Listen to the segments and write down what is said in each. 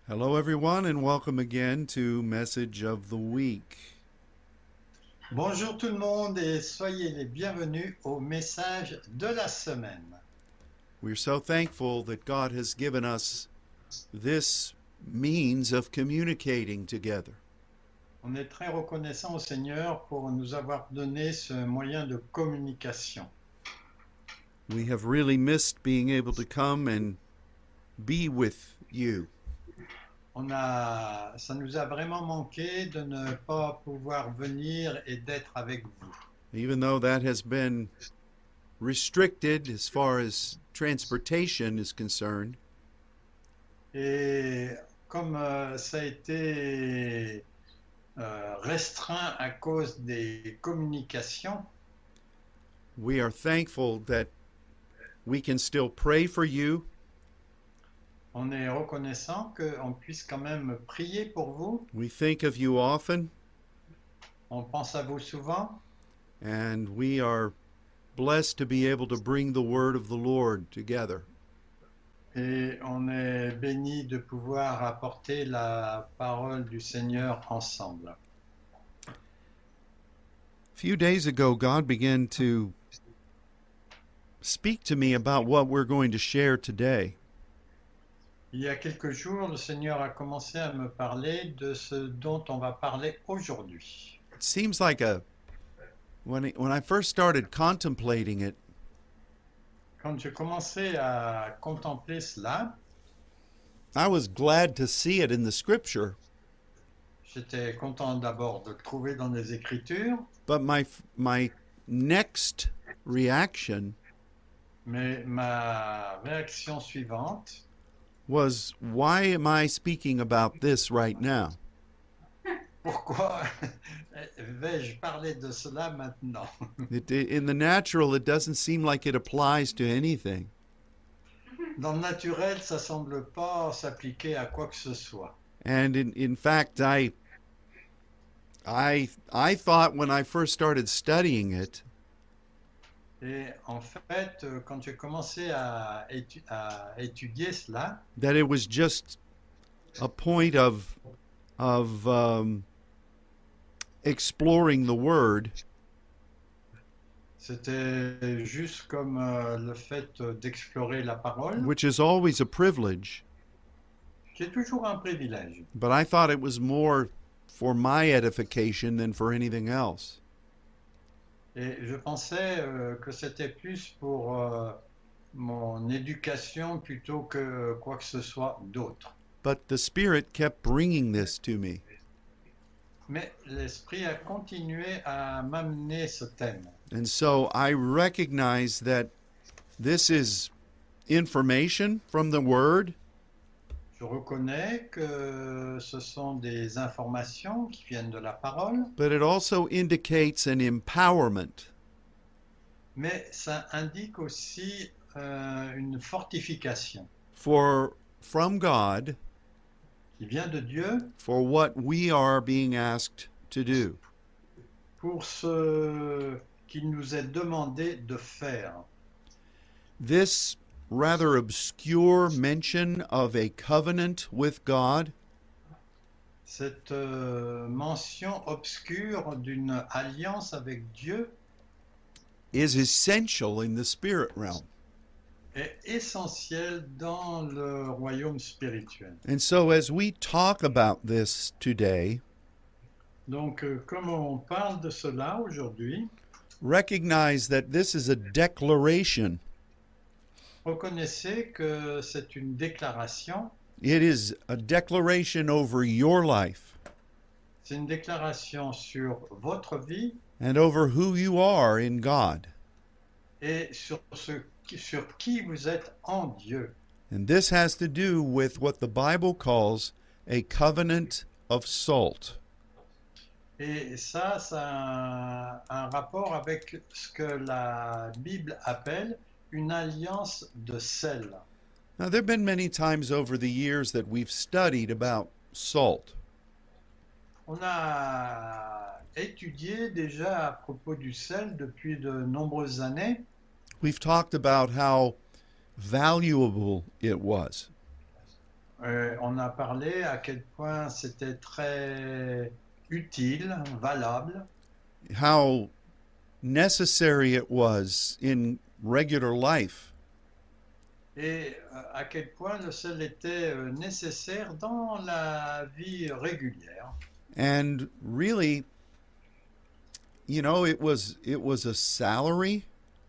Hello, everyone, and welcome again to Message of the Week. Bonjour tout le monde et soyez les bienvenus au message de la semaine. We're so thankful that God has given us this means of communicating together. On est très reconnaissant au Seigneur pour nous avoir donné ce moyen de communication. We have really missed being able to come and be with you. Ça nous a vraiment manqué de ne pas pouvoir venir et d'être avec vous. Even though that has been restricted as far as transportation is concerned, Et comme ça a été restreint à cause des communications, we are thankful that we can still pray for you. on est reconnaissant qu'on puisse quand même prier pour vous. We think of you often, On pense à vous souvent. and we are blessed to be able to bring the word of the Lord together. Et on est béni de pouvoir apporter la parole du Seigneur ensemble. A few days ago, God began to speak to me about what we're going to share today. Il y a quelques jours, le Seigneur a commencé à me parler de ce dont on va parler aujourd'hui. It seems like when I first started contemplating it, Quand j'ai commencé à contempler cela, I was glad to see it in the scripture, j'étais content d'abord de le trouver dans les Écritures, but my next reaction mais ma réaction suivante, was, why am I speaking about this right now? pourquoi vais-je parler de cela maintenant? In the natural, it doesn't seem like it applies to anything. Dans le naturel, ça semble pas s'appliquer à quoi que ce soit. And in fact, I thought when I first started studying it Et en fait, quand j'ai commencé à étudier cela, that it was just a point of exploring the word, c'était juste comme le fait d'explorer la parole, which is always a privilege. qui est toujours un privilège. But I thought it was more for my edification than for anything else. Et je pensais que c'était plus pour mon éducation plutôt que quoi que ce soit d'autre. But the Spirit kept bringing this to me. Mais l'Esprit a continué à m'amener ce thème. And so I recognize that this is information from the Word, Je reconnais que ce sont des informations qui viennent de la parole, but it also indicates an empowerment. mais ça indique aussi une fortification From God qui vient de Dieu for what we are being asked to do. pour ce qu'il nous est demandé de faire. This rather obscure mention of a covenant with God Cette mention obscure d'une alliance avec Dieu is essential in the spirit realm. est essentielle dans le royaume spirituel. And so as we talk about this today, Donc, comme on parle de cela aujourd'hui, recognize that this is a declaration. reconnaissez que c'est une déclaration. It is a declaration over your life C'est une déclaration sur votre vie and over who you are in God. et sur qui vous êtes en Dieu. And this has to do with what the Bible calls a covenant of salt. Et ça a un rapport avec ce que la Bible appelle une alliance de sel. Now, there have been many times over the years that we've studied about salt. On a étudié déjà à propos du sel depuis de nombreuses années. We've talked about how valuable it was. On a parlé à quel point c'était très utile, valable, how necessary it was in regular life. et à quel point le sel était nécessaire dans la vie régulière. And really, it was a salary.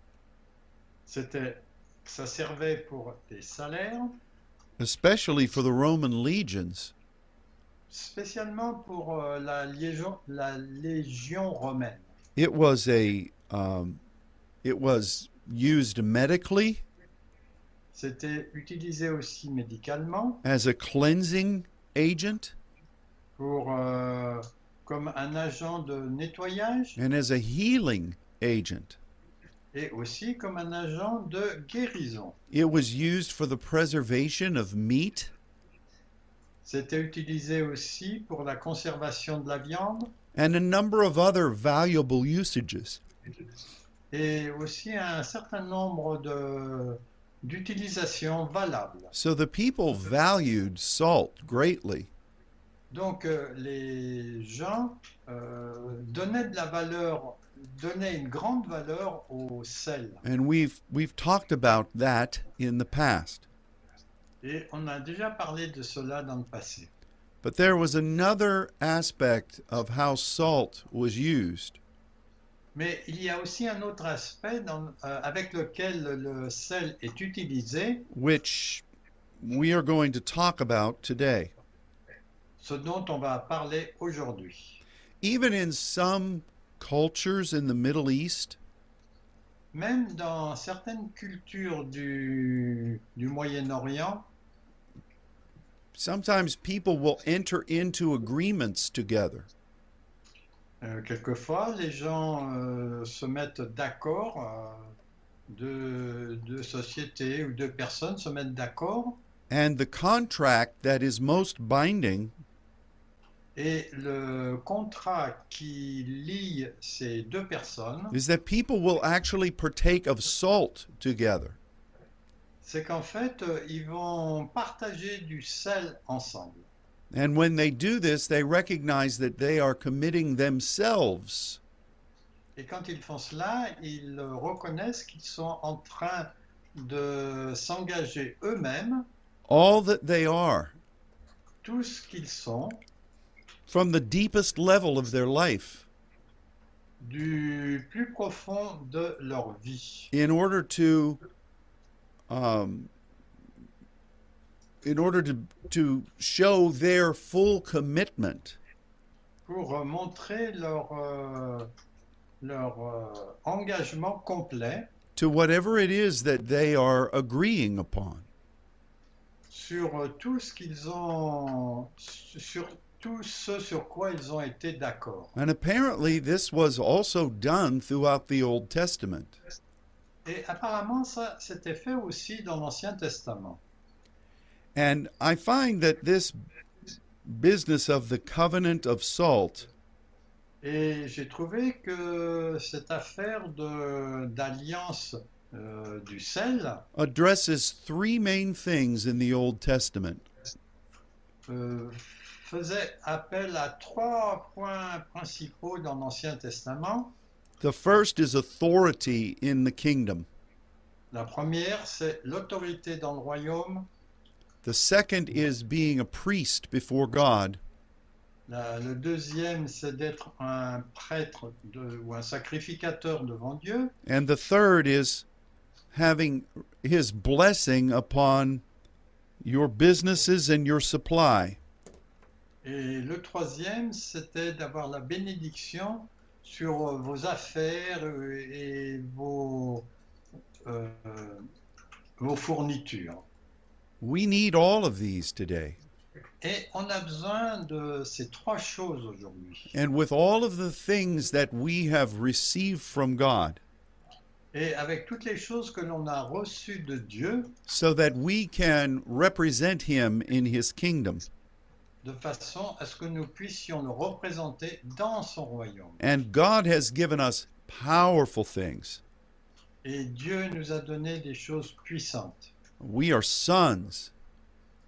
Ça servait pour des salaires, Especially for the Roman legions. spécialement pour la légion romaine. It was it was used medically, C'était utilisé aussi médicalement as a cleansing agent, comme un agent de nettoyage and as a healing agent. et aussi comme un agent de guérison. It was used for the preservation of meat, C'était utilisé aussi pour la conservation de la viande and a number of other valuable usages. et aussi un certain nombre d'utilisations valables. So the people valued salt greatly. Donc les gens donnaient une grande valeur au sel. And we've talked about that in the past. Et on a déjà parlé de cela dans le passé. But there was another aspect of how salt was used, Mais il y a aussi un autre aspect avec lequel le sel est utilisé, which we are going to talk about today. ce dont on va parler aujourd'hui. Even in some cultures in the Middle East, Même dans certaines cultures du Moyen-Orient, sometimes people will enter into agreements together. quelquefois les gens se mettent d'accord, deux sociétés ou deux personnes se mettent d'accord, And the contract that is most binding et le contrat qui lie ces deux personnes, is that people will actually partake of salt together. c'est qu'en fait, ils vont partager du sel ensemble. And when they do this, they recognize that they are committing themselves Et quand ils font cela, ils reconnaissent qu'ils sont en train de s'engager eux-mêmes, all that they are tout ce qu'ils sont, from the deepest level of their life du plus profond de leur vie, in order to show their full commitment pour montrer leur engagement complet to whatever it is that they are agreeing upon. sur tout ce qu'ils ont, sur tout ce sur quoi ils ont été d'accord. And apparently this was also done throughout the Old Testament. Et apparemment, ça s'était fait aussi dans l'Ancien Testament. And I find that this business of the covenant of salt Et j'ai trouvé que cette affaire d'alliance du sel addresses three main things in the Old Testament. faisait appel à trois points principaux dans l'Ancien Testament. The first is authority in the kingdom. La première, c'est l'autorité dans le royaume. The second is being a priest before God. Le deuxième, c'est d'être un prêtre ou un sacrificateur devant Dieu. And the third is having his blessing upon your businesses and your supply. Et le troisième, c'était d'avoir la bénédiction sur vos affaires et vos fournitures. We need all of these today. Et on a besoin de ces trois choses aujourd'hui. And with all of the things that we have received from God, Et avec toutes les choses que l'on a reçues de Dieu, so that we can represent him in his kingdom. de façon à ce que nous puissions le représenter dans son royaume. And God has given us powerful things. Et Dieu nous a donné des choses puissantes. We are sons.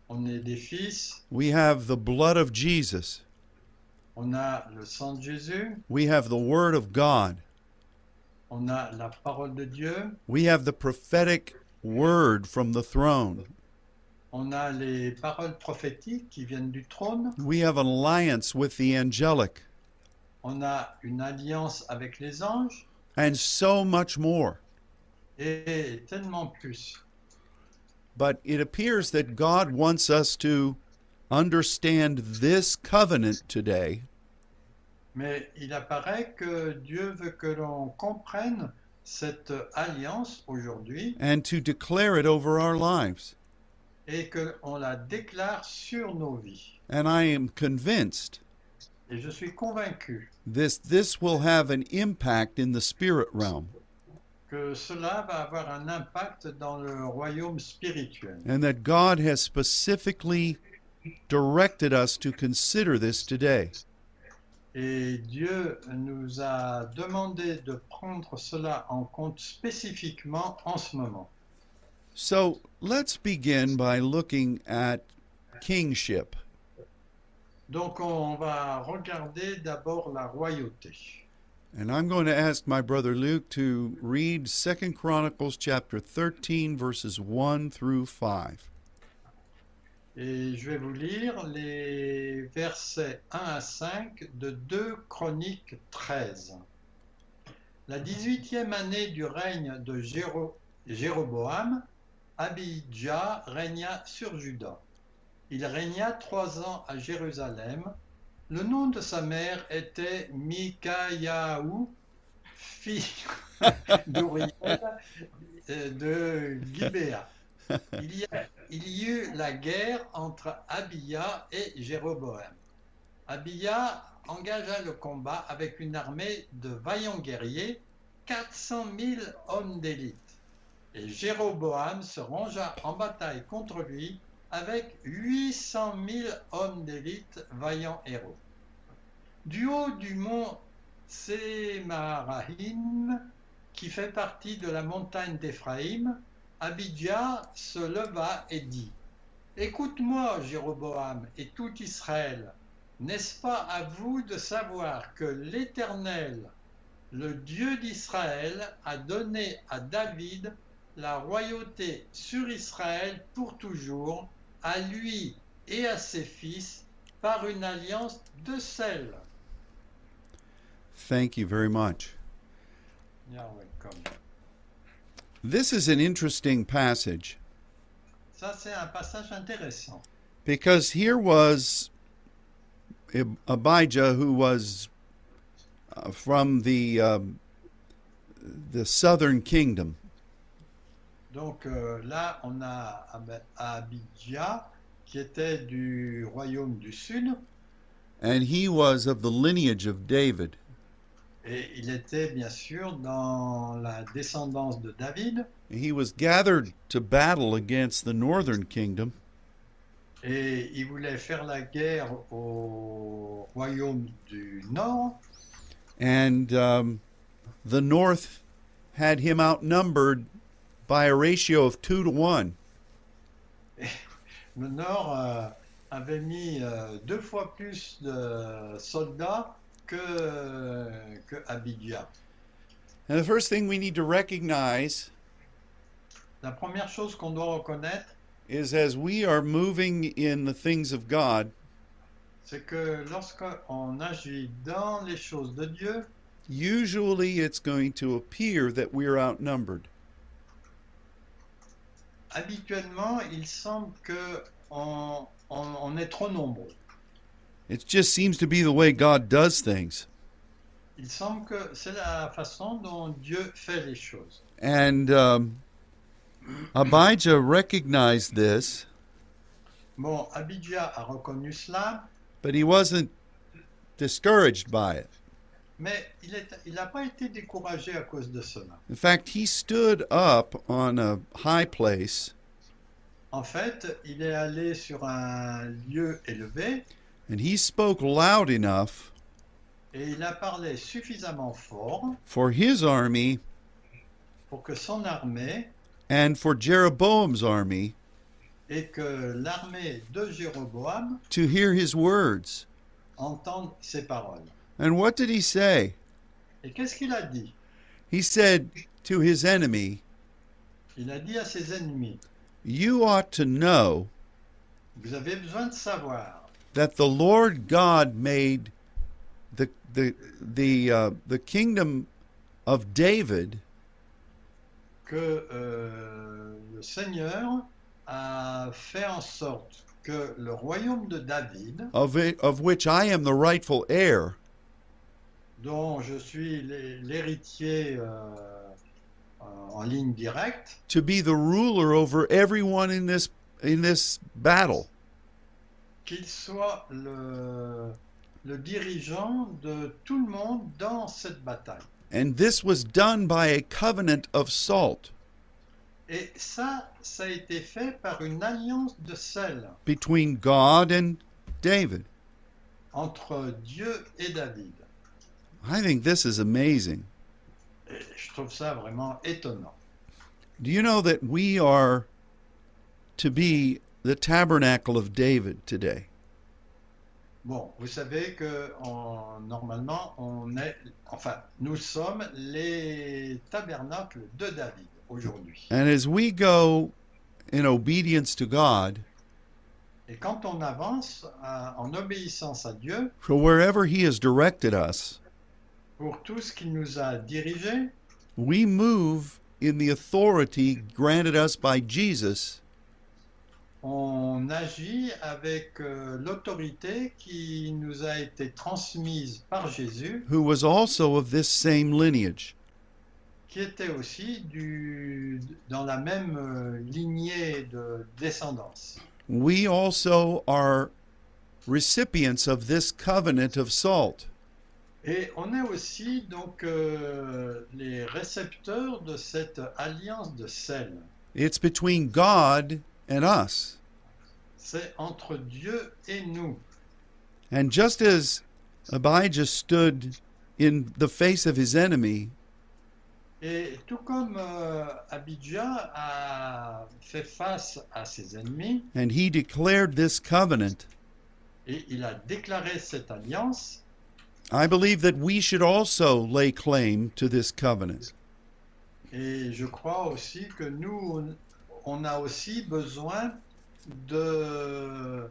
On est des fils, We have the blood of Jesus. on a le sang de Jésus, We have the Word of God. on a la parole de Dieu, We have the prophetic word from the throne. on a les paroles prophétiques qui viennent du trône, We have an alliance with the angelic, on a une alliance avec les anges and so much more. et tellement plus. But it appears that God wants us to understand this covenant today Mais il apparaît que Dieu veut que l'on comprenne cette alliance aujourd'hui and to declare it over our lives. et qu'on la déclare sur nos vies. And I am convinced Et je suis convaincu this will have an impact in the spirit realm, que cela va avoir un impact dans le royaume spirituel. and that God has specifically directed us to consider this today. Et Dieu nous a demandé de prendre cela en compte spécifiquement en ce moment. So let's begin by looking at kingship. Donc on va regarder d'abord la royauté. And I'm going to ask my brother Luke to read 2 Chronicles chapter 13 verses 1 through 5. Et je vais vous lire les versets 1 à 5 de 2 Chroniques 13. La 18e année du règne de Jéroboam, Abijah régna sur Juda. Il régna 3 ans à Jérusalem. Le nom de sa mère était Mikayahu, fille d'Uriel de Gibéa. Il y eut la guerre entre Abia et Jéroboam. Abia engagea le combat avec une armée de vaillants guerriers, 400 000 hommes d'élite. Et Jéroboam se rangea en bataille contre lui avec 800 000 hommes d'élite, vaillants héros. Du haut du mont Sémarahim, qui fait partie de la montagne d'Éphraïm, Abijah se leva et dit : « Écoute-moi, Jéroboam et tout Israël, n'est-ce pas à vous de savoir que l'Éternel, le Dieu d'Israël, a donné à David la royauté sur Israël pour toujours, à lui et à ses fils, par une alliance de sel. » Thank you very much. You're welcome. This is an interesting passage Ça, c'est un passage intéressant. because here was Abijah, who was from the southern kingdom. Donc là, on a Abijah, qui était du royaume du sud, And he was of the lineage of David. et il était bien sûr dans la descendance de David, He was gathered to battle against the northern kingdom, et il voulait faire la guerre au royaume du nord, and the north had him outnumbered by a ratio of 2 to 1. Le nord avait mis 2 fois plus de soldats que Abijah. And the first thing we need to recognize La première chose qu'on doit reconnaître, is as we are moving in the things of God, c'est que lorsqu'on agit dans les choses de Dieu, usually it's going to appear that we're outnumbered. habituellement, il semble qu'on est trop nombreux. It just seems to be the way God does things. Il semble que c'est la façon dont Dieu fait les choses. And Abijah recognized this, Bon, Abijah a reconnu cela, but he wasn't discouraged by it. mais il n'a pas été découragé à cause de cela. In fact, he stood up on a high place En fait, il est allé sur un lieu élevé and he spoke loud enough et il a parlé suffisamment fort for his army pour que son armée and for Jeroboam's army et que l'armée de Jéroboam to hear his words. entende ses paroles. And what did he say? Et qu'est-ce qu'il a dit? He said to his enemy, Il a dit à ses ennemis, "You ought to know vous avez besoin de savoir that the Lord God made the kingdom of David que le Seigneur a fait en sorte que le royaume de David, of which I am the rightful heir, dont je suis l'héritier en ligne directe, to be the ruler over everyone in this battle." qu'il soit le dirigeant de tout le monde dans cette bataille. And this was done by a covenant of salt Et ça a été fait par une alliance de sel between God and David. entre Dieu et David. I think this is amazing. Et je trouve ça vraiment étonnant. Do you know that we are to be the tabernacle of David today? Bon, vous savez que normalement, nous sommes les tabernacles de David aujourd'hui. And as we go in obedience to God, Et quand on avance en obéissance à Dieu, for wherever He has directed us, pour tout ce qu'il nous a dirigé, we move in the authority granted us by Jesus, on agit avec l'autorité qui nous a été transmise par Jésus, who was also of this same lineage. qui était aussi dans la même lignée de descendance. We also are recipients of this covenant of salt. Et on est aussi donc les récepteurs de cette alliance de sel. It's between God and us. C'est entre Dieu et nous. And just as Abijah stood in the face of his enemy, Et tout comme Abijah a fait face à ses ennemis, and he declared this covenant, et il a déclaré cette alliance, I believe that we should also lay claim to this covenant. et je crois aussi que nous, on a aussi besoin de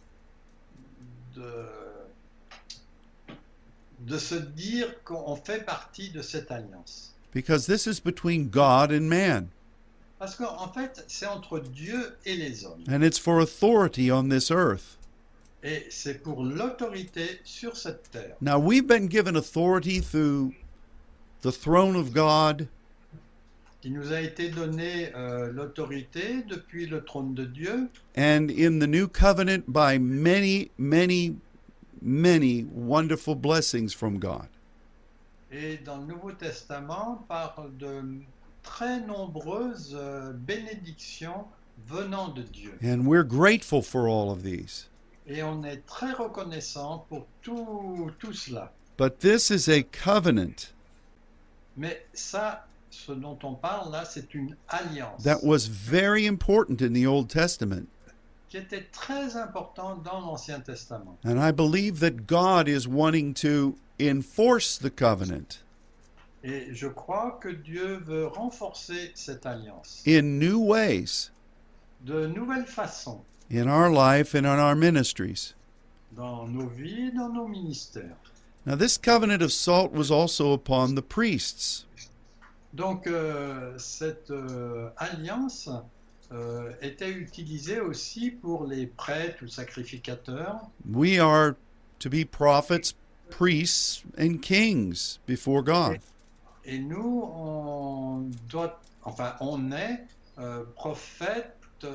se dire qu'on fait partie de cette alliance. Because this is between God and man, Parce qu'en fait, c'est entre Dieu et les hommes. and it's for authority on this earth. Et c'est pour l'autorité sur cette terre. Now, we've been given authority through the throne of God, Il nous a été donné l'autorité depuis le trône de Dieu and in the new covenant by many, many, many wonderful blessings from God. et dans le Nouveau Testament par de très nombreuses bénédictions venant de Dieu. And we're grateful for all of these. Et on est très reconnaissant pour tout cela. But this is a covenant Mais ça, ce dont on parle là, c'est une alliance that was very important in the Old Testament. qui était très importante dans l'Ancien Testament. And I believe that God is wanting to enforce the covenant Et je crois que Dieu veut renforcer cette alliance in new ways de nouvelles façons in our life and in our ministries. dans nos vies et dans nos ministères. Now, this covenant of salt was also upon the priests. Donc cette alliance était utilisée aussi pour les prêtres ou sacrificateurs. We are to be prophets, priests, and kings before God. Et nous, on est prophètes,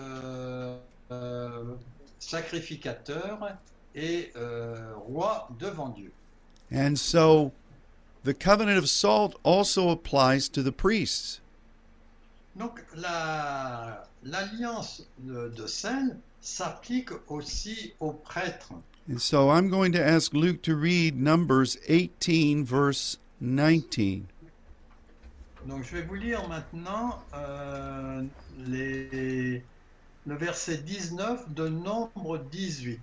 sacrificateurs et rois devant Dieu. And so the covenant of salt also applies to the priests. Donc l'alliance de sel s'applique aussi aux prêtres. And so I'm going to ask Luke to read Numbers 18, verse 19. Donc je vais vous lire maintenant les le verset 19 de Nombre 18.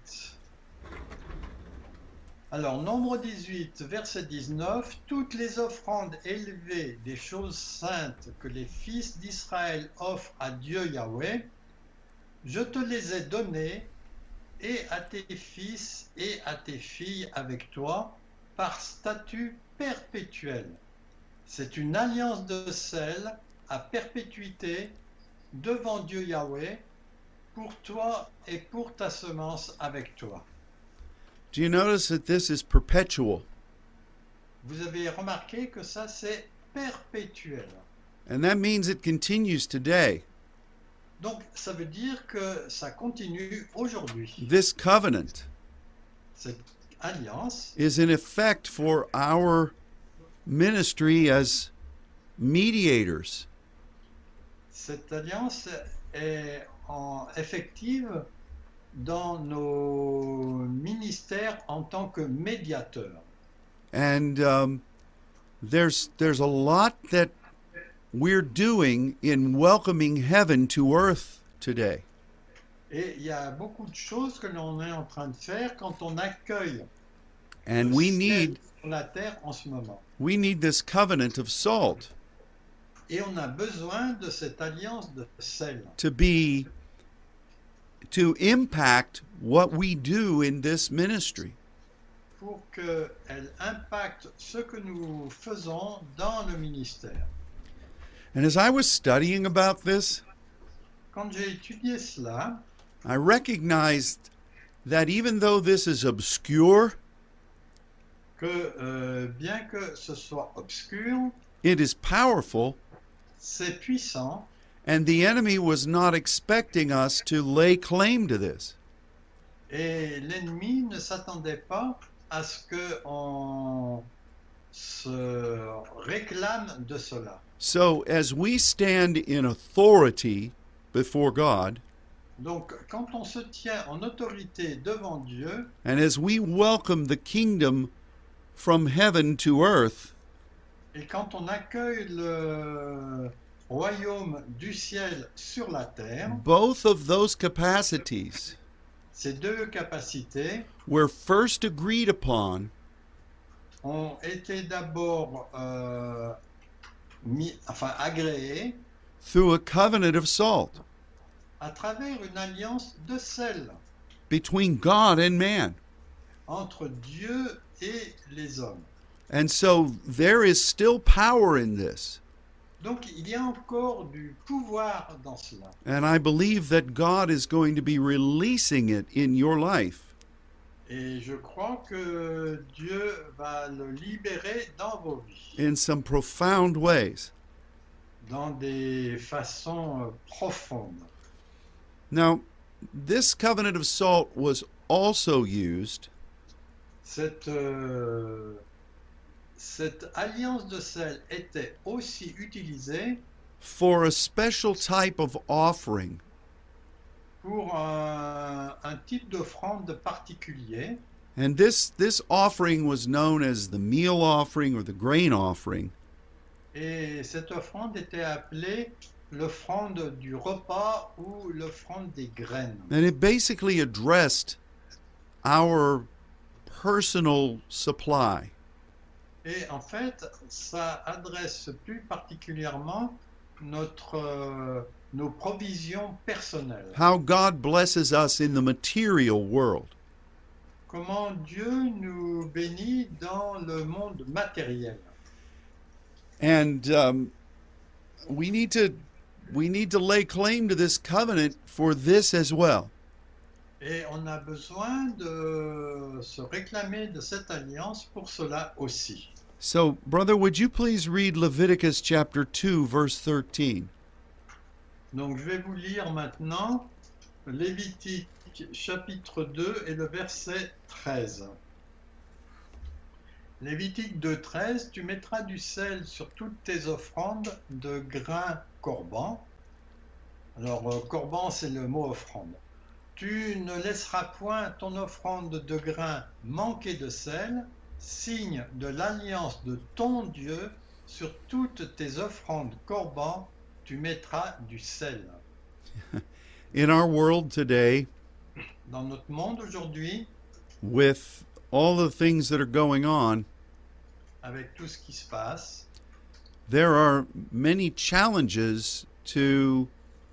Alors, Nombre 18, verset 19, « Toutes les offrandes élevées des choses saintes que les fils d'Israël offrent à Dieu Yahweh, je te les ai données, et à tes fils et à tes filles avec toi, par statut perpétuel. C'est une alliance de sel à perpétuité devant Dieu Yahweh, pour toi et pour ta semence avec toi. » Do you notice that this is perpetual? Vous avez remarqué que ça c'est perpétuel. And that means it continues today. Donc ça veut dire que ça continue aujourd'hui. This covenant Cette alliance is in effect for our ministry as mediators. Cette alliance est effective dans nos ministères en tant que médiateurs. And there's a lot that we're doing in welcoming heaven to earth today. Et il y a beaucoup de choses que l'on est en train de faire quand on accueille And le we ciel need sur la terre en ce moment. this covenant of salt Et on a besoin de cette alliance de sel to impact what we do in this ministry. pour qu'elle impacte ce que nous faisons dans le ministère. And as I was studying about this, Quand j'ai étudié cela, I recognized that even though this is obscure, que bien que ce soit obscur, it is powerful, c'est puissant, and the enemy was not expecting us to lay claim to this. et l'ennemi ne s'attendait pas à ce qu'on se réclame de cela. So as we stand in authority before God, Donc, quand on se tient en autorité devant Dieu, and as we welcome the kingdom from heaven to earth, et quand on accueille le royaume du ciel sur la terre, both of those capacities ces deux capacités were first agreed upon ont été d'abord agréées through a covenant of salt à travers une alliance de sel between God and man. entre Dieu et les hommes. And so there is still power in this. Donc il y a encore du pouvoir dans cela. And I believe that God is going to be releasing it in your life. Et je crois que Dieu va le libérer dans vos vies, In some profound ways. dans des façons profondes. Now, this covenant of salt was also used Cette alliance de sel était aussi utilisée for a special type of offering. pour un type d'offrande particulier. And this offering was known as the meal offering or the grain offering. Et cette offrande était appelée l'offrande du repas ou l'offrande des graines. And it basically addressed our personal supply. Et en fait, ça adresse plus particulièrement nos provisions personnelles. How God blesses us in the material world. Comment Dieu nous bénit dans le monde matériel. And we need to lay claim to this covenant for this as well. Et on a besoin de se réclamer de cette alliance pour cela aussi. So, brother, would you please read Leviticus chapter 2, verse 13? Donc je vais vous lire maintenant Lévitique chapitre 2 et le verset 13. Lévitique 2, 13, tu mettras du sel sur toutes tes offrandes de grains corban. Alors corban c'est le mot offrande. Tu ne laisseras point ton offrande de grains manquer de sel, signe de l'alliance de ton Dieu, sur toutes tes offrandes corban, tu mettras du sel. In our world today, Dans notre monde aujourd'hui, with all the things that are going on, avec tout ce qui se passe, there are many challenges to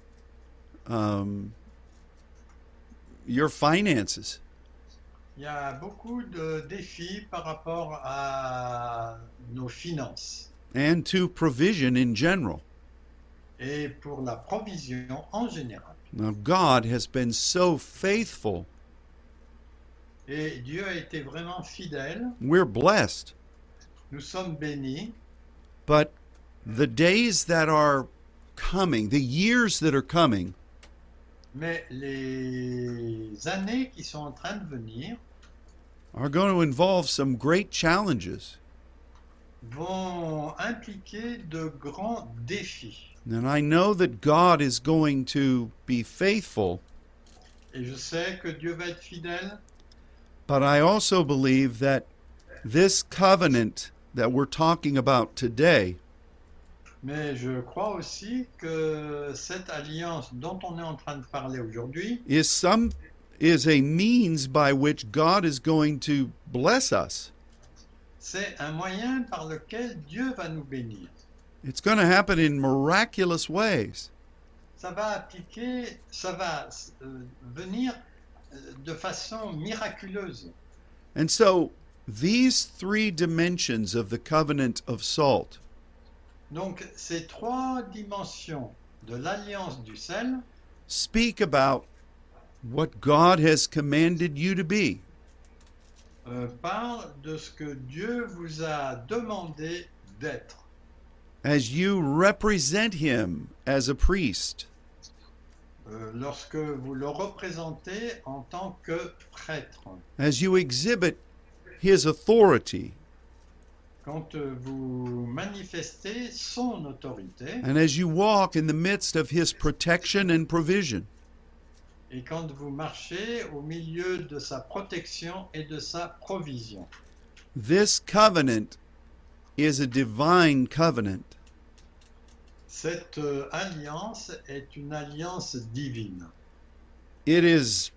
your finances. il y a beaucoup de défis par rapport à nos finances And to provision in general. et pour la provision en général. Now, God has been so faithful. Et Dieu a été vraiment fidèle. We're blessed. Nous sommes bénis. But the days that are coming, the years that are coming, Mais les années qui sont en train de venir are going to involve some great challenges. vont impliquer de grands défis. And I know that God is going to be faithful, Et je sais que Dieu va être fidèle, but I also believe that this covenant that we're talking about today mais je crois aussi que cette alliance dont on est en train de parler aujourd'hui is a means by which God is going to bless us. c'est un moyen par lequel Dieu va nous bénir. It's going to happen in miraculous ways. Ça va venir de façon miraculeuse. And so these three dimensions of the covenant of salt Donc ces trois dimensions de l'alliance du sel speak about what God has commanded you to be. parlent de ce que Dieu vous a demandé d'être. As you represent him as a priest, Lorsque vous le représentez en tant que prêtre, as you exhibit his authority, quand vous manifestez son autorité and as you walk in the midst of his protection and provision. et quand vous marchez au milieu de sa protection et de sa provision. This covenant is a divine covenant. Cette alliance est une alliance divine. It's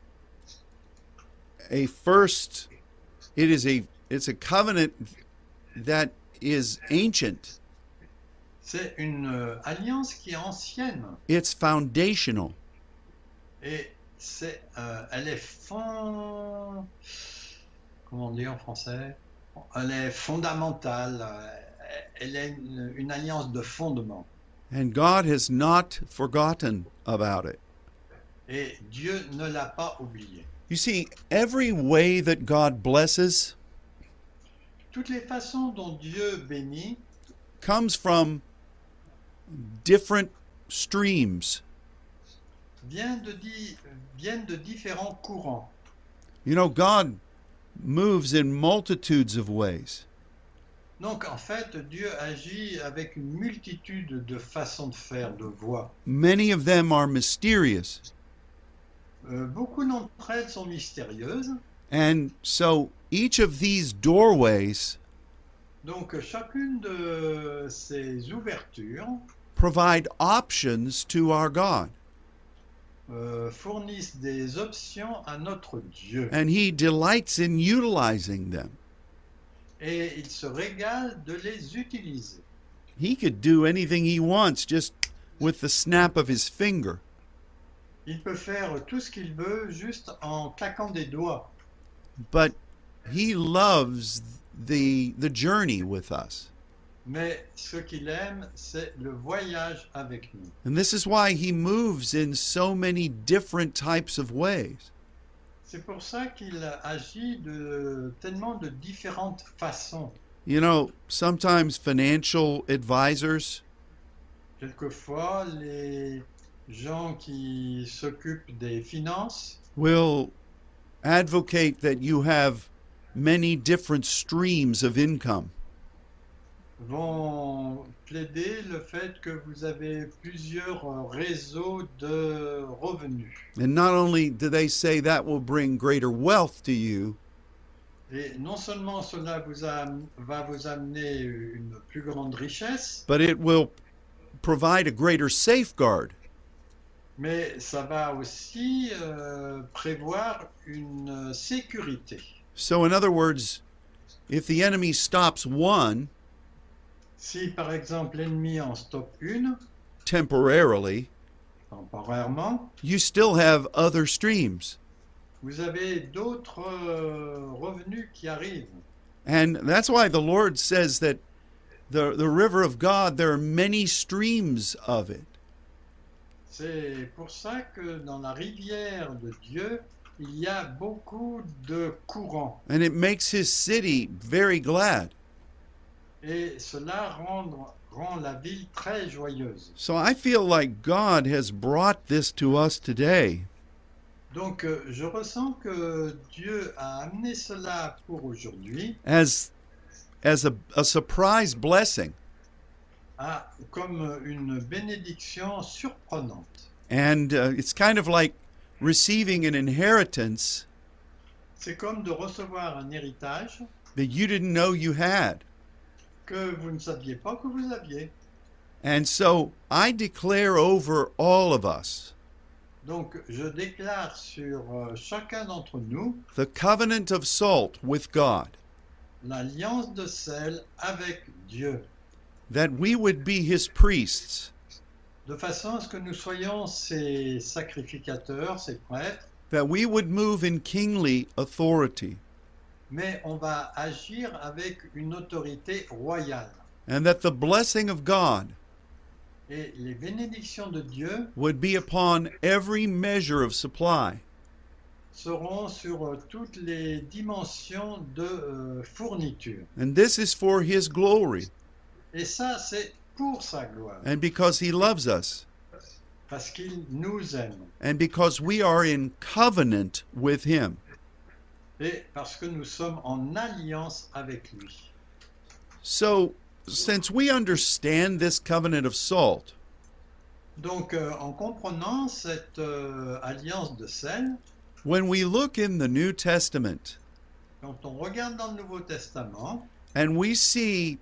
a covenant that is ancient. C'est une alliance qui est ancienne It's foundational. et elle est comment on dit en français? Elle est fondamentale. Elle est une alliance de fondement. And God has not forgotten about it. Et Dieu ne l'a pas oublié. You see, every way that God blesses Toutes les façons dont Dieu bénit comes from different streams. viennent de différents courants. You know, God moves in multitudes of ways. Donc en fait, Dieu agit avec une multitude de façons de faire, de voies. Many of them are mysterious. Beaucoup d'entre elles sont mystérieuses. And so each of these doorways Donc chacune de ces ouvertures provide options to our God. Fournissent des options à notre Dieu. And he delights in utilizing them. Et il se régale de les utiliser. He could do anything he wants just with the snap of his finger. Il peut faire tout ce qu'il veut juste en claquant des doigts. But he loves the journey with us. Mais ce qu'il aime, c'est le voyage avec nous. And this is why he moves in so many different types of ways. C'est pour ça qu'il agit de tellement de différentes façons. You know, sometimes financial advisors Quelquefois, les gens qui s'occupent des finances will advocate that you have many different streams of income. vont plaider le fait que vous avez plusieurs réseaux de revenus. And not only do they say that will bring greater wealth to you, Et non seulement cela va vous amener une plus grande richesse, but it will provide a greater safeguard. Mais ça va aussi prévoir une sécurité. So, in other words, if the enemy stops one Si par exemple l'ennemi en stoppe une, temporarily, temporairement, you still have other streams. vous avez d'autres revenus qui arrivent. And that's why the Lord says that the river of God, there are many streams of it. C'est pour ça que dans la rivière de Dieu, il y a beaucoup de courants. And it makes his city very glad. Et cela rend la ville très joyeuse. So I feel like God has brought this to us today. Donc je ressens que Dieu a amené cela pour aujourd'hui as a surprise blessing. Comme une bénédiction surprenante. And it's kind of like receiving an inheritance C'est comme de recevoir un héritage that you didn't know you had. que vous ne saviez pas que vous aviez. And so I declare over all of us Donc je déclare sur chacun d'entre nous the covenant of salt with God, l'alliance de sel avec Dieu, that we would be his priests, de façon à ce que nous soyons ses sacrificateurs, ses prêtres, that we would move in kingly authority, mais on va agir avec une autorité royale. and that the blessing of God Et les bénédictions de Dieu would be upon every measure of supply. seront sur toutes les dimensions de fourniture. And this is for his glory, Et ça, c'est pour sa gloire, and because he loves us, parce qu'il nous aime and because we are in covenant with him. et parce que nous sommes en alliance avec lui. So, since we understand this covenant of salt, Donc, en comprenant cette alliance de sel, when we look in the New Testament quand on regarde dans le Nouveau Testament and we see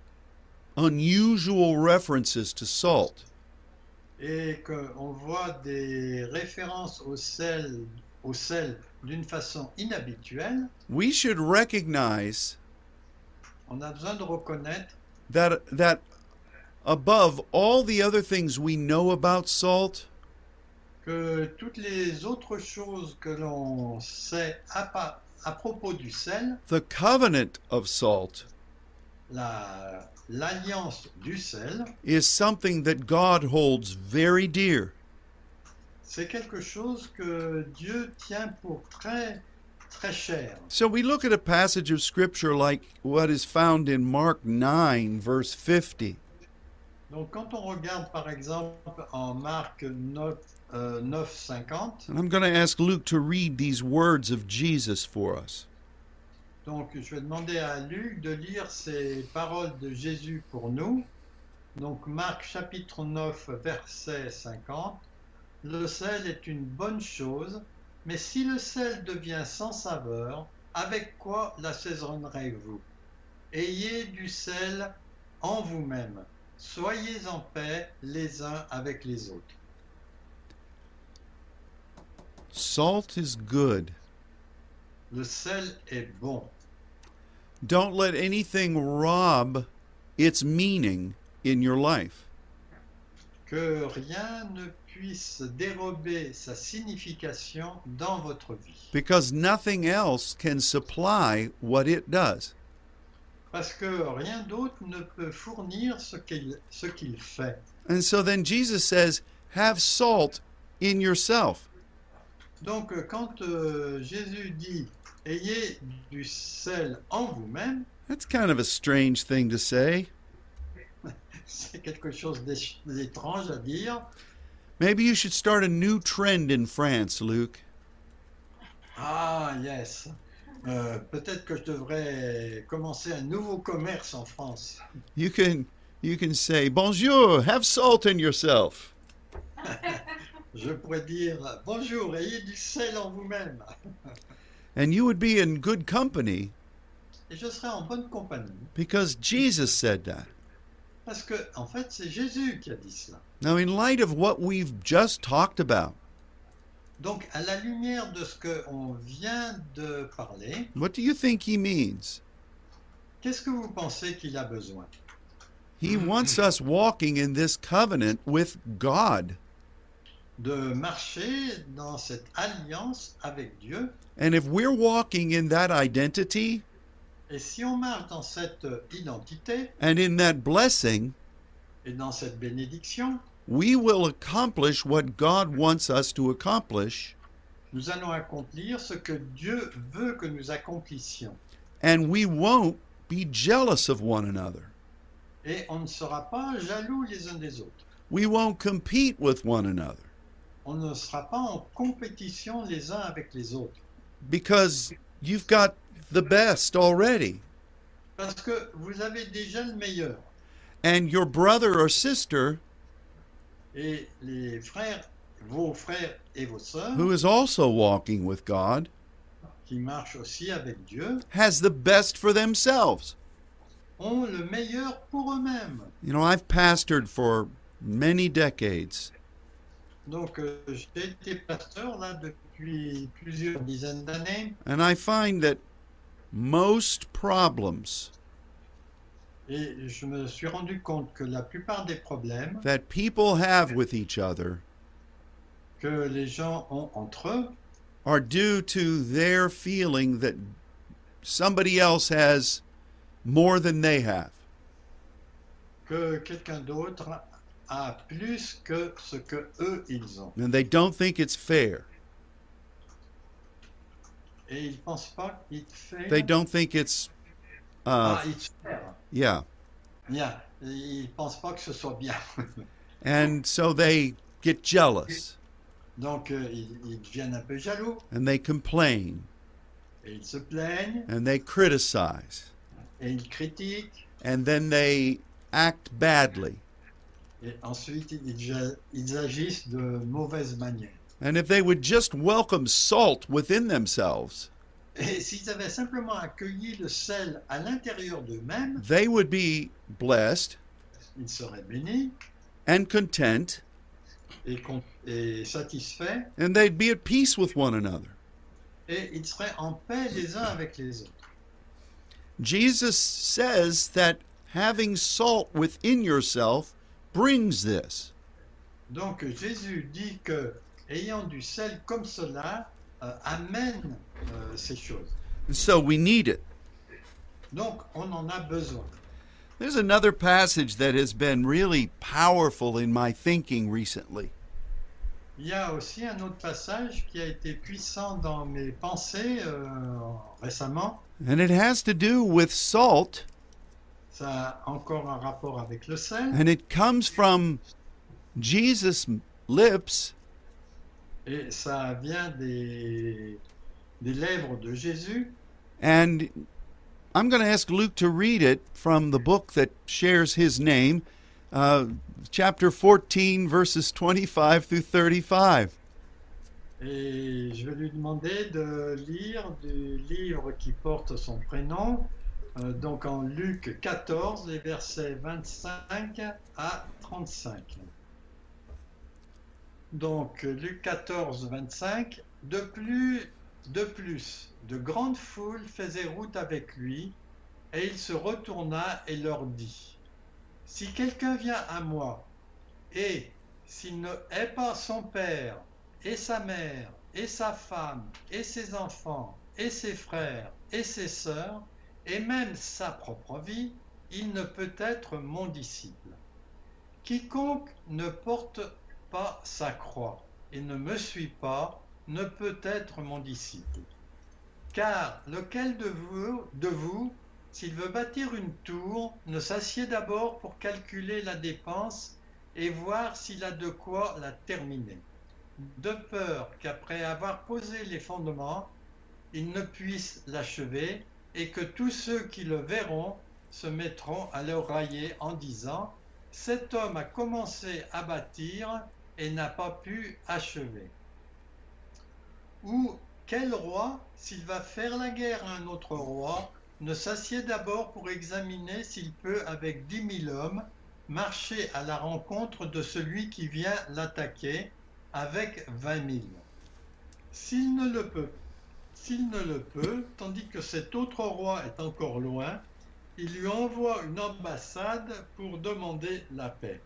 unusual references to salt, et qu'on voit des références au sel d'une façon inhabituelle, we should recognize on a besoin de reconnaître that above all the other things we know about salt, que toutes les autres choses que l'on sait à propos du sel, the covenant of salt l'alliance du sel, is something that God holds very dear. c'est quelque chose que Dieu tient pour très, très cher. So we look at a passage of scripture like what is found in Mark 9, verse 50. Donc quand on regarde par exemple en Marc 9:50, And I'm going to ask Luke to read these words of Jesus for us. donc je vais demander à Luc de lire ces paroles de Jésus pour nous. Donc Marc chapitre 9 verset 50. Le sel est une bonne chose, mais si le sel devient sans saveur, avec quoi l'assaisonnerez-vous? Ayez du sel en vous-même. Soyez en paix les uns avec les autres. Salt is good. Le sel est bon. Don't let anything rob its meaning in your life. Que rien ne puisse dérober sa signification dans votre vie. Because nothing else can supply what it does. Parce que rien d'autre ne peut fournir ce qu'il fait. And so then Jesus says, have salt in yourself. Donc quand Jésus dit « Ayez du sel en vous-même », That's kind of a strange thing to say. c'est quelque chose d'étrange à dire. Maybe you should start a new trend in France, Luke. Ah, yes. Peut-être que je devrais commencer un nouveau commerce en France. You can say, bonjour, have salt in yourself. Je pourrais dire « Bonjour, ayez du sel en vous-même ». And you would be in good company Et je serai en bonne compagnie. because Jesus said that. Parce que, en fait, c'est Jésus qui a dit cela. Now, in light of what we've just talked about, Donc, à la lumière de ce qu'on vient de parler, what do you think he means? qu'est-ce que vous pensez qu'il a besoin? He wants us walking in this covenant with God. De marcher dans cette alliance avec Dieu. And if we're walking in that identity Et si on marche dans cette identité and in that blessing, et dans cette bénédiction, we will accomplish what God wants us to accomplish, nous allons accomplir ce que Dieu veut que nous accomplissions. and we won't be jealous of one another. Et on ne sera pas jaloux les uns des autres. We won't compete with one another On ne sera pas en compétition les uns avec les autres. because you've got the best already. Parce que vous avez déjà le meilleur. And your brother or sister, Et les frères, vos frères et vos sœurs, who is also walking with God, qui marchent aussi avec Dieu, has the best for themselves. ont le meilleur pour eux-mêmes. You know, I've pastored for many decades, Donc, j'ai été pasteur là depuis plusieurs dizaines d'années and I find that most problems et je me suis rendu compte que la plupart des problèmes that people have with each other que les gens ont entre eux are due to their feeling that somebody else has more than they have. que quelqu'un d'autre a plus que ce que eux ils ont. And they don't think it's fair. Et ils pensent pas qu'ils fait. They don't think it's, It's fair. yeah. Bien. Ils pensent pas que ce soit bien. And so they get jealous Donc ils deviennent un peu jaloux and they complain et ils se plaignent and they criticize et ils critiquent and then they act badly. et ensuite ils agissent de mauvaise manière. And if they would just welcome salt within themselves, Et s'ils avaient simplement accueilli le sel à l'intérieur d'eux-mêmes, they would be blessed ils seraient bénis and content, et satisfaits and they'd be at peace with one another. et ils seraient en paix les uns avec les autres. Jesus says that having salt within yourself brings this. Donc Jésus dit que ayant du sel comme cela amène ces choses. And so we need it. Donc on en a besoin. There's another passage that has been really powerful in my thinking recently. Il y a aussi un autre passage qui a été puissant dans mes pensées récemment. And it has to do with salt, Ça a encore un rapport avec le sel. and it comes from Jesus' lips, Et ça vient des lèvres de Jésus. and I'm going to ask Luke to read it from the book that shares his name, chapter 14, verses 25 through 35. Et je vais lui demander de lire du livre qui porte son prénom, donc en Luc 14, les versets 25 à 35. Donc Luc 14, 25, de plus, de grandes foules faisaient route avec lui, et il se retourna et leur dit, « Si quelqu'un vient à moi, et s'il ne hait pas son père, et sa mère, et sa femme, et ses enfants, et ses frères, et ses sœurs, et même sa propre vie, il ne peut être mon disciple. Quiconque ne porte pas sa croix et ne me suit pas, ne peut être mon disciple. Car lequel de vous, s'il veut bâtir une tour, ne s'assied d'abord pour calculer la dépense et voir s'il a de quoi la terminer, de peur qu'après avoir posé les fondements, il ne puisse l'achever et que tous ceux qui le verront se mettront à le railler en disant « Cet homme a commencé à bâtir et n'a pas pu achever. » Ou quel roi, s'il va faire la guerre à un autre roi, ne s'assied d'abord pour examiner s'il peut avec 10 000 hommes marcher à la rencontre de celui qui vient l'attaquer avec 20 000. S'il ne le peut, tandis que cet autre roi est encore loin, il lui envoie une ambassade pour demander la paix.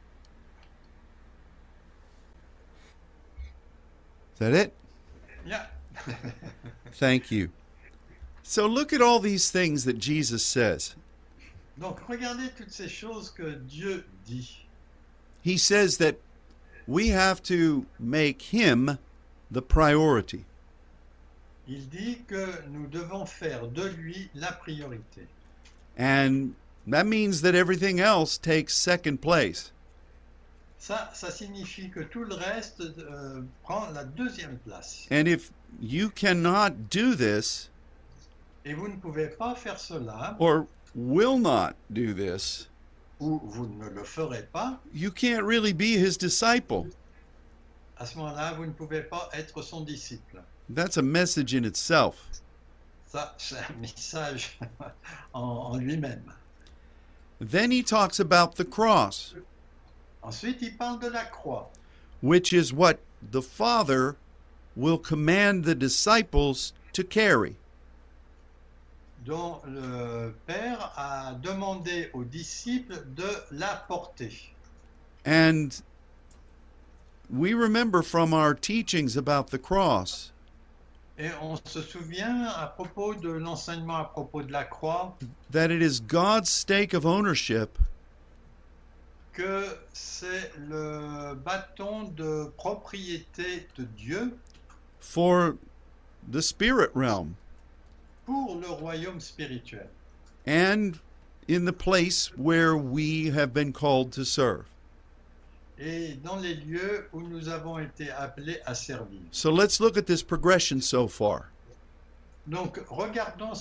Is that it? Yeah. Thank you. So look at all these things that Jesus says. Donc regardez toutes ces choses que Dieu dit. He says that we have to make him the priority. Il dit que nous devons faire de lui la priorité. And that means that everything else takes second place. Ça signifie que tout le reste prend la deuxième place. And if you cannot do this, Et vous ne pouvez pas faire cela, or will not do this, ou vous ne le ferez pas, you can't really be his disciple. à ce moment-là, vous ne pouvez pas être son disciple. That's a message in itself. Ça, c'est un message en lui-même. Then he talks about the cross, Ensuite, il parle de la croix, which is what the Father will command the disciples to carry. dont le Père a demandé aux disciples de la porter. And we remember from our teachings about the cross Et on se souvient à propos de l'enseignement à propos de la croix that it is God's stake of ownership que c'est le bâton de propriété de Dieu for the spirit realm pour le royaume spirituel and in the place where we have been called to serve. et dans les lieux où nous avons été appelés à servir. So let's look at this progression so far. Donc regardons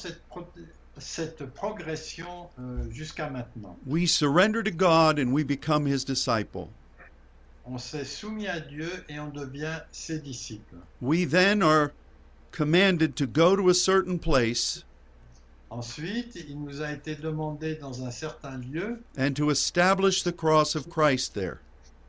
cette progression jusqu'à maintenant. We surrender to God and we become his disciple. On s'est soumis à Dieu et on devient ses disciples. We then are commanded to go to a certain place Ensuite, il nous a été demandé dans un certain lieu and to establish the cross of Christ there.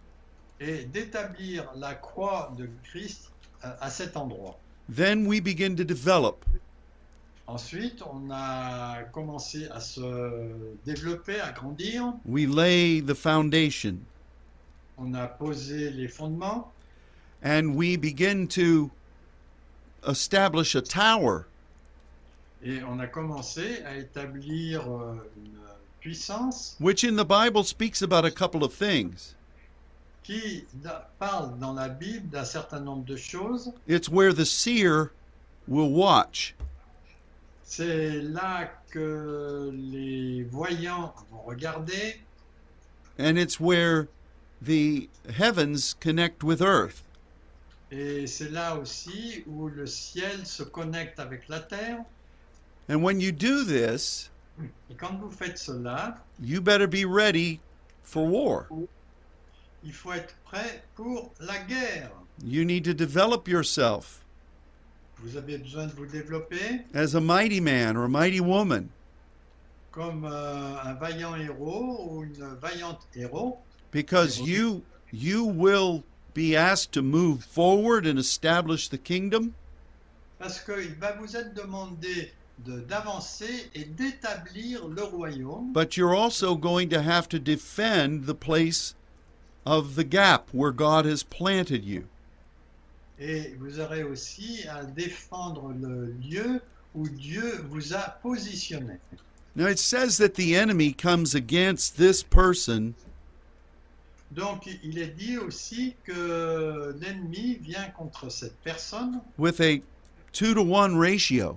et d'établir la croix de Christ à cet endroit. Then we begin to develop. Ensuite, on a commencé à se développer, à grandir. We lay the foundation On a posé les fondements and we begin to establish a tower et on a commencé à établir une puissance which in the Bible speaks about a couple of things. qui parle dans la Bible d'un certain nombre de choses. It's where the seer will watch. C'est là que les voyants vont regarder And it's where the heavens connect with earth. et c'est là aussi où le ciel se connecte avec la terre. And when you do this, Et quand vous faites cela, you better be ready for war. il faut être prêt pour la guerre. You need to develop yourself Vous avez besoin de vous développer as a mighty man or a mighty woman comme un vaillant héros ou une vaillante héros, because you will be asked to move forward and establish the kingdom, parce qu'il va vous être demandé d'avancer et d'établir le royaume, but you're also going to have to defend the place of the gap where God has planted you. et vous aurez aussi à défendre le lieu où Dieu vous a positionné. Now it says that the enemy comes against this person Donc il est dit aussi que l'ennemi vient contre cette personne with a 2-to-1 ratio.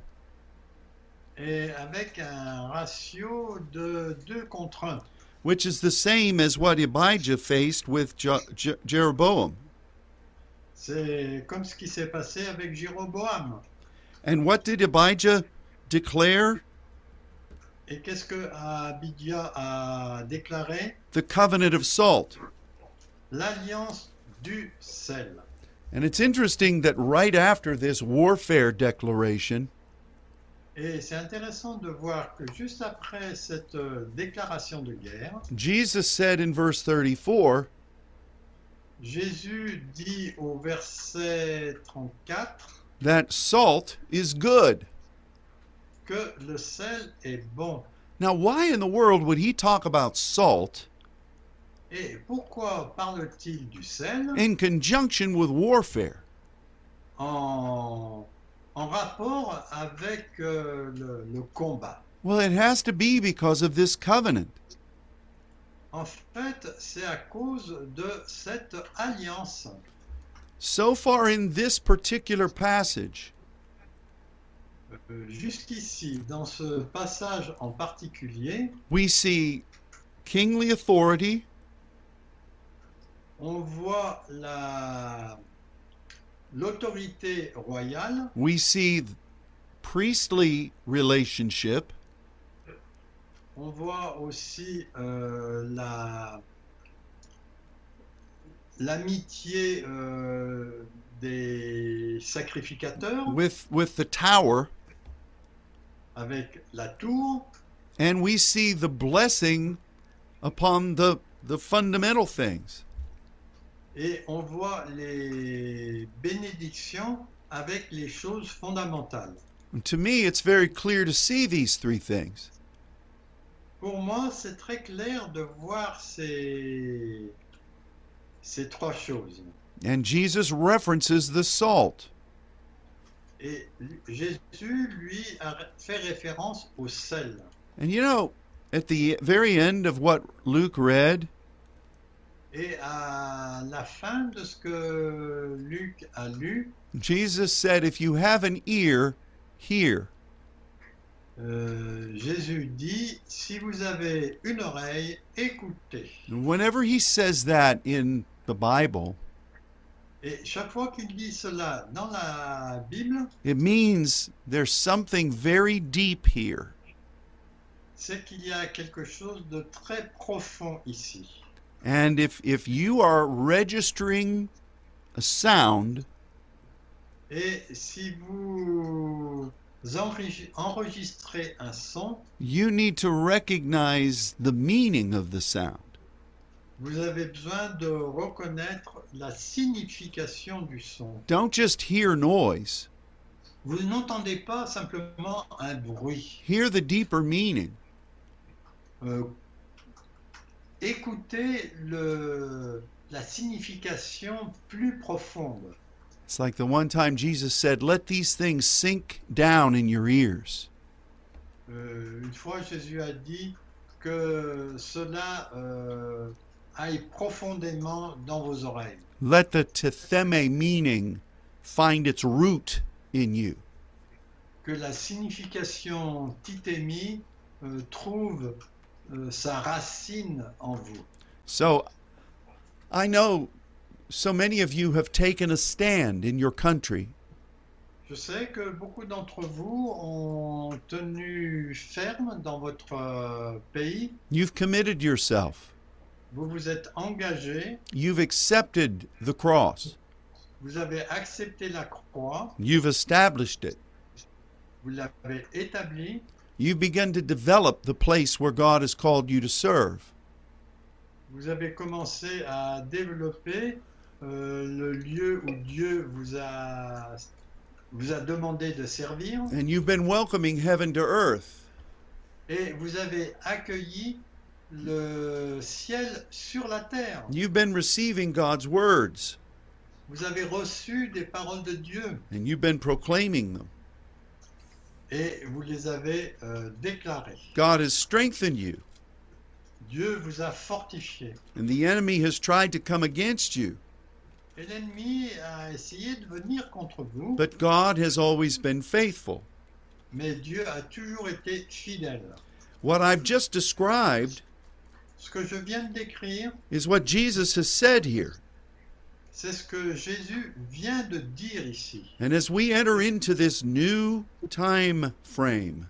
et avec un ratio de 2 contre 1. Which is the same as what Abijah faced with Jeroboam. C'est comme ce qui s'est passé avec Jéroboam. And what did Abijah declare? Et qu'est-ce que Abijah a déclaré? The covenant of salt. L'alliance du sel. And it's interesting that right after this warfare declaration, Et c'est intéressant de voir que juste après cette déclaration de guerre, Jesus said in verse 34, Jésus dit au verset 34 that salt is good. que le sel est bon. Now, why in the world would he talk about salt Et pourquoi parle-t-il du sel in conjunction with warfare? en rapport avec le combat? Well, it has to be because of this covenant. En fait, c'est à cause de cette alliance. So far in this particular passage, Jusqu'ici, dans ce passage en particulier, we see kingly authority, on voit l'autorité royale, we see priestly relationship, on voit aussi l'amitié des sacrificateurs with the tower, avec la tour, and we see the blessing upon the fundamental things. et on voit les bénédictions avec les choses fondamentales. And to me, it's very clear to see these three things. Pour moi, c'est très clair de voir ces trois choses. And Jesus references the salt. Et Jésus, lui, a fait référence au sel. And you know, at the very end of what Luke read, Et à la fin de ce que Luc a lu, Jesus said, if you have an ear, hear. Jésus dit, si vous avez une oreille, écoutez. And whenever he says that in the Bible, Et chaque fois qu'il dit cela dans la Bible, it means there's something very deep here. c'est qu'il y a quelque chose de très profond ici. And if you are registering a sound, Et si vous enregistrez un son, you need to recognize the meaning of the sound. vous avez besoin de reconnaître la signification du son. Don't just hear noise. Vous n'entendez pas simplement un bruit. Hear the deeper meaning. Écoutez la signification plus profonde. It's like the one time Jesus said, let these things sink down in your ears. Une fois, Jésus a dit que cela aille profondément dans vos oreilles. Let the tetheme meaning find its root in you. Que la signification titémi trouve sa racine en vous. So, I know so many of you have taken a stand in your country. Je sais que beaucoup d'entre vous ont tenu ferme dans votre pays. You've committed yourself. Vous vous êtes engagé. You've accepted the cross. Vous avez accepté la croix. You've established it. Vous l'avez établi. You've begun to develop the place where God has called you to serve. Vous avez commencé à développer le lieu où Dieu vous a demandé de servir. And you've been welcoming heaven to earth. Et vous avez accueilli le ciel sur la terre. You've been receiving God's words. Vous avez reçu des paroles de Dieu. And you've been proclaiming them. Et vous les avez déclarées. God has strengthened you. Dieu vous a fortifié. And the enemy has tried to come against you. Et l'ennemi a essayé de venir contre vous. But God has always been faithful. Mais Dieu a toujours été fidèle. What I've just described Ce que je viens de décrire, is what Jesus has said here. c'est ce que Jésus vient de dire ici. And as we enter into this new time frame,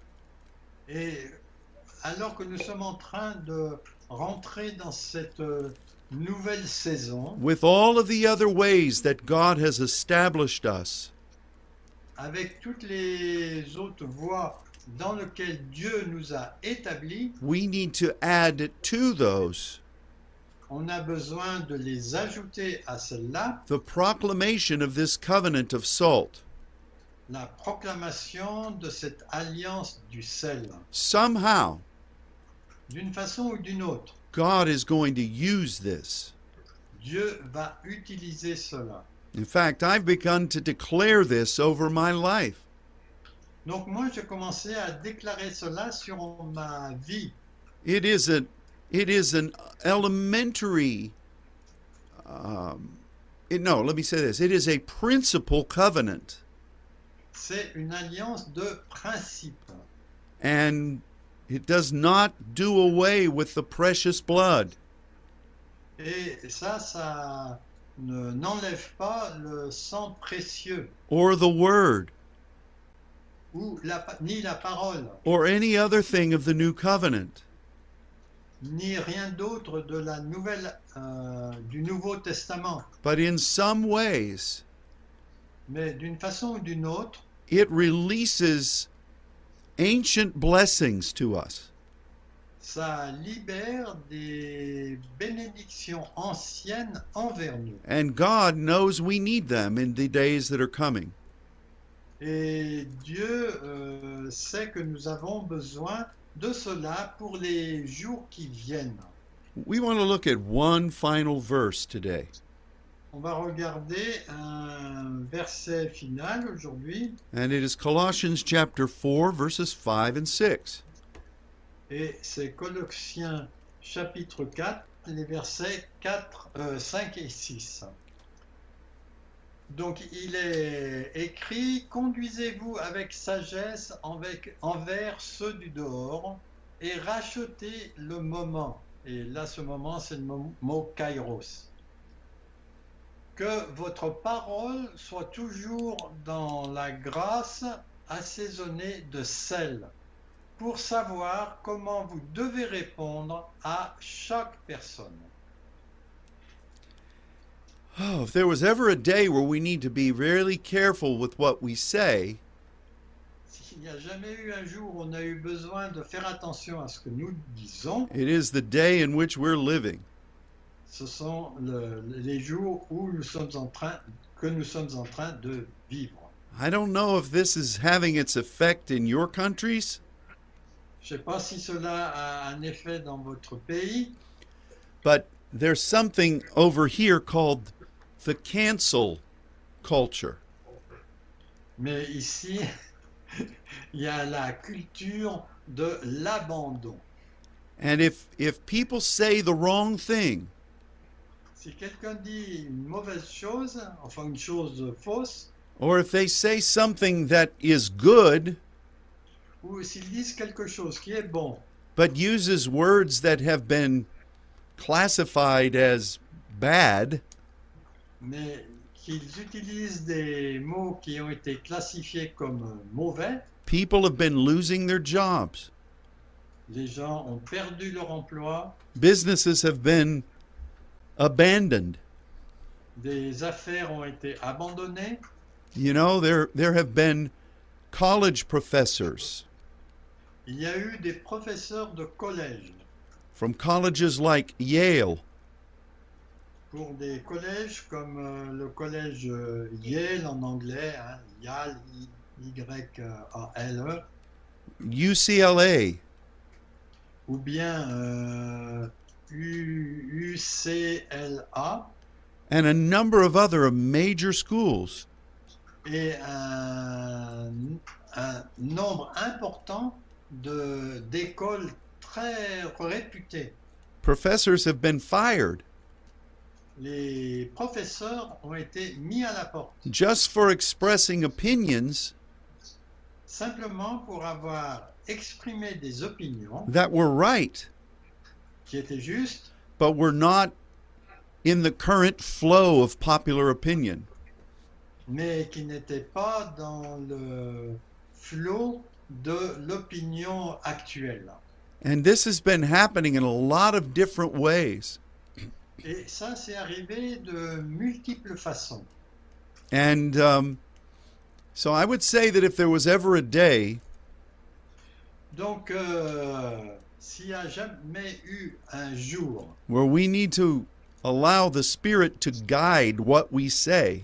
Et alors que nous sommes en train de rentrer dans cette nouvelle saison, with all of the other ways that God has established us, avec toutes les autres voies dans lesquelles Dieu nous a établis, we need to add to those on a besoin de les ajouter à celle-là, the proclamation of this covenant of salt. la proclamation de cette alliance du sel. Somehow, D'une façon ou d'une autre, God is going to use this. Dieu va utiliser cela. In fact, I've begun to declare this over my life. Donc moi, j'ai commencé à déclarer cela sur ma vie. It is an elementary, let me say this. It is a principal covenant. C'est une alliance de principe. And it does not do away with the precious blood. Et ça n'enlève pas le sang précieux, Or the word, ou ni la parole, or any other thing of the new covenant. ni rien d'autre de du Nouveau Testament. But in some ways, Mais d'une façon ou d'une autre, it releases ancient blessings to us. ça libère des bénédictions anciennes envers nous. And God knows we need them in the days that are coming. Et Dieu sait que nous avons besoin de cela pour les jours qui viennent. We want to look at one final verse today. On va regarder un verset final aujourd'hui, And it is Colossians chapter 4, verses 5 and 6. et c'est Colossiens chapitre 4, les versets 5 et 6. Donc il est écrit: conduisez-vous avec sagesse envers ceux du dehors et rachetez le moment. Et là, ce moment, c'est le mot kairos. Que votre parole soit toujours dans la grâce, assaisonnée de sel, pour savoir comment vous devez répondre à chaque personne. Oh, if there was ever a day where we need to be really careful with what we say, S'il n'y a jamais eu un jour où on a eu besoin de faire attention à ce que nous disons, it is the day in which we're living. ce sont les jours où nous sommes en train de vivre. I don't know if this is having its effect in your countries, Je ne sais pas si cela a un effet dans votre pays, but there's something over here called the cancel culture. mais ici, il y a la culture de l'abandon. And if people say the wrong thing, Si quelqu'un dit une mauvaise chose, enfin une chose fausse, or if they say something that is good, ou s'ils disent quelque chose qui est bon, but uses words that have been classified as bad, mais qu'ils utilisent des mots qui ont été classifiés comme mauvais, people have been losing their jobs. les gens ont perdu leur emploi, Businesses have been abandoned. des affaires ont été abandonnées. You know, there have been college professors Il y a eu des professeurs de collège, from colleges like Yale, pour des collèges comme le collège Yale en anglais, hein, Yale, Y-A-L-E, UCLA, ou bien UCLA, and a number of other major schools. et un nombre important d'écoles très réputées. Professors have been fired Les professeurs ont été mis à la porte, just for expressing opinions simplement pour avoir exprimé des opinions that were right, qui étaient justes, but were not in the current flow of popular opinion. mais qui n'étaient pas dans le flot de l'opinion actuelle. And this has been happening in a lot of different ways. Et ça, c'est arrivé de multiples façons. And So I would say that if there was ever a day Donc, s'il n'y a jamais eu un jour where we need to allow the Spirit to guide what we say,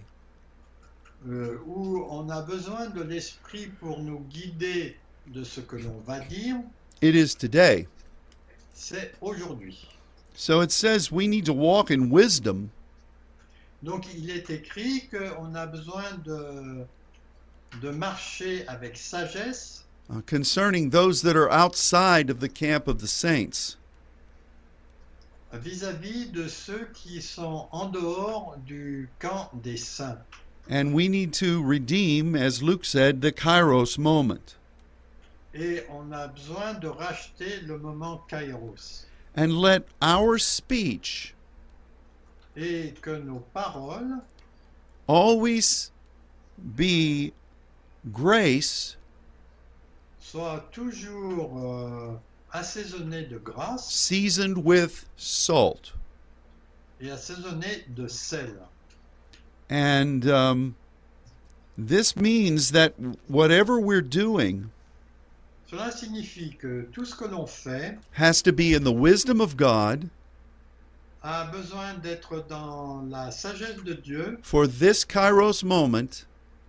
où on a besoin de l'esprit pour nous guider de ce que l'on va dire, it is today. c'est aujourd'hui. So it says we need to walk in wisdom Donc il est écrit qu'on a besoin de marcher avec sagesse concerning those that are outside of the camp of the saints. vis-à-vis de ceux qui sont en dehors du camp des saints. And we need to redeem, as Luke said, the kairos moment. Et on a besoin de racheter le moment kairos. And let our speech Et que nos paroles always be grace soient toujours assaisonnées de grâce seasoned with salt. et assaisonnées de sel. And this means that whatever we're doing Cela signifie que tout ce que l'on fait has to be in the wisdom of God a besoin d'être dans la sagesse de Dieu for this kairos moment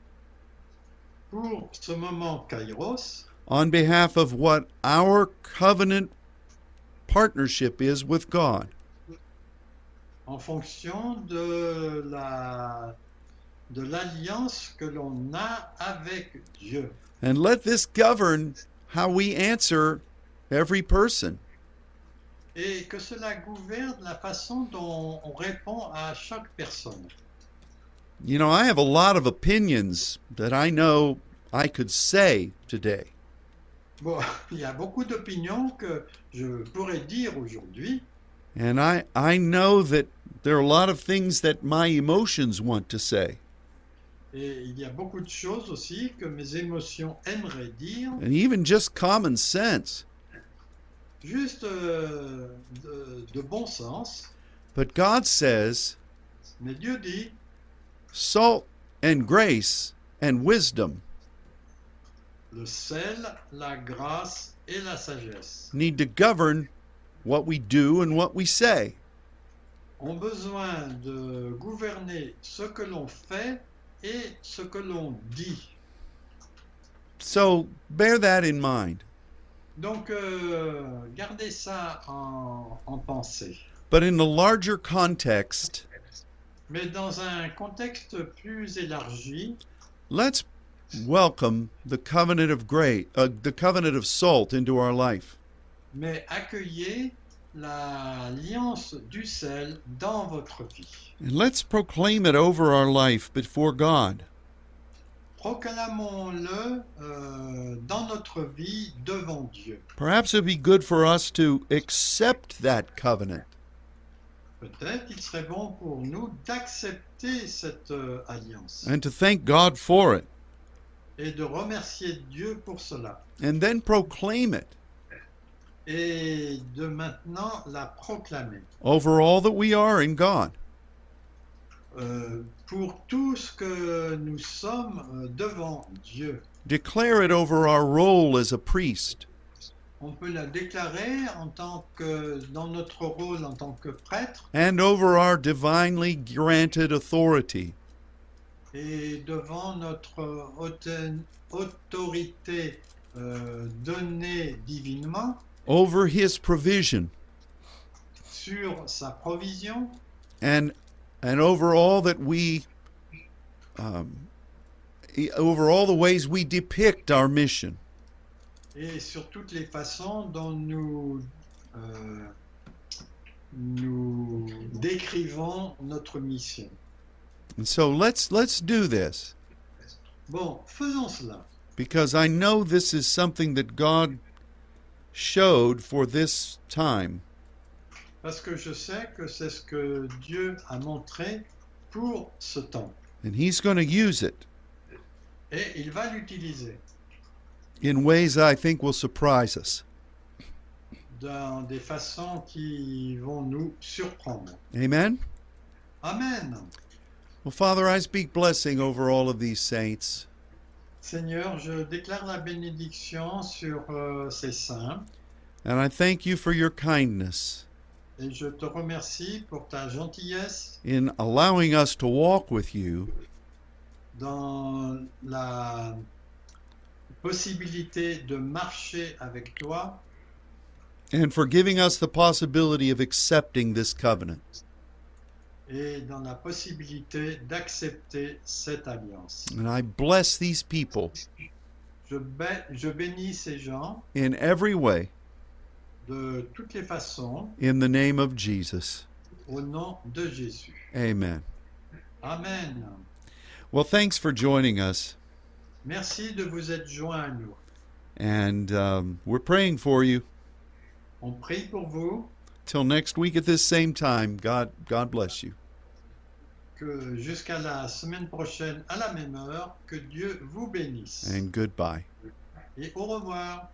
pour ce moment kairos, on behalf of what our covenant partnership is with God. en fonction de l'alliance que l'on a avec Dieu. And let this govern how we answer every person. Et que cela gouverne la façon dont on répond à chaque personne. You know, I have a lot of opinions that I know I could say today. Bon, il y a beaucoup d'opinions que je pourrais dire aujourd'hui, And I know that there are a lot of things that my emotions want to say. et il y a beaucoup de choses aussi que mes émotions aimeraient dire, And even just common sense. juste de bon sens. But God says, Mais Dieu dit, salt and grace and wisdom le sel, la grâce et la sagesse need to govern what we do and what we say. ont besoin de gouverner ce que l'on fait et ce que l'on dit. So bear that in mind. Donc, gardez ça en pensée. But in the larger context, Mais dans un contexte plus élargi, let's welcome the covenant of grace, the covenant of salt into our life. mais accueillez l'alliance du sel dans votre vie. And let's proclaim it over our life before God. Proclamons-le dans notre vie devant Dieu. Perhaps it would be good for us to accept that covenant Peut-être il serait bon pour nous d'accepter cette alliance and to thank God for it, et de remercier Dieu pour cela. and then proclaim it Et de maintenant la proclamer over all that we are in God. pour tout ce que nous sommes devant Dieu. Declare it over our role as a priest, On peut la déclarer dans notre rôle en tant que prêtre and over our divinely granted authority. et devant notre autorité donnée divinement Over His provision, sur sa provision and over all that we, over all the ways we depict our mission. et sur toutes les façons dont nous décrivons notre mission. And so let's do this, Bon, faisons cela, because I know this is something that God showed for this time. parce que je sais que c'est ce que Dieu a montré pour ce temps. And He's going to use it Et il va l'utiliser in ways I think will surprise us. dans des façons qui vont nous surprendre. Amen? Amen. Well, Father, I speak blessing over all of these saints. Seigneur, je déclare la bénédiction sur ces saints and I thank you for your kindness et je te remercie pour ta gentillesse in allowing us to walk with you dans la possibilité de marcher avec toi and for giving us the possibility of accepting this covenant. et dans la possibilité d'accepter cette alliance. And I bless these people Je bénis ces gens in every way de toutes les façons in the name of Jesus. au nom de Jésus. Amen. Amen. Well, thanks for joining us. Merci de vous être joints à nous. And we're praying for you. On prie pour vous, Till next week at this same time, God bless you. que jusqu'à la semaine prochaine à la même heure, que Dieu vous bénisse. And goodbye. Et au revoir.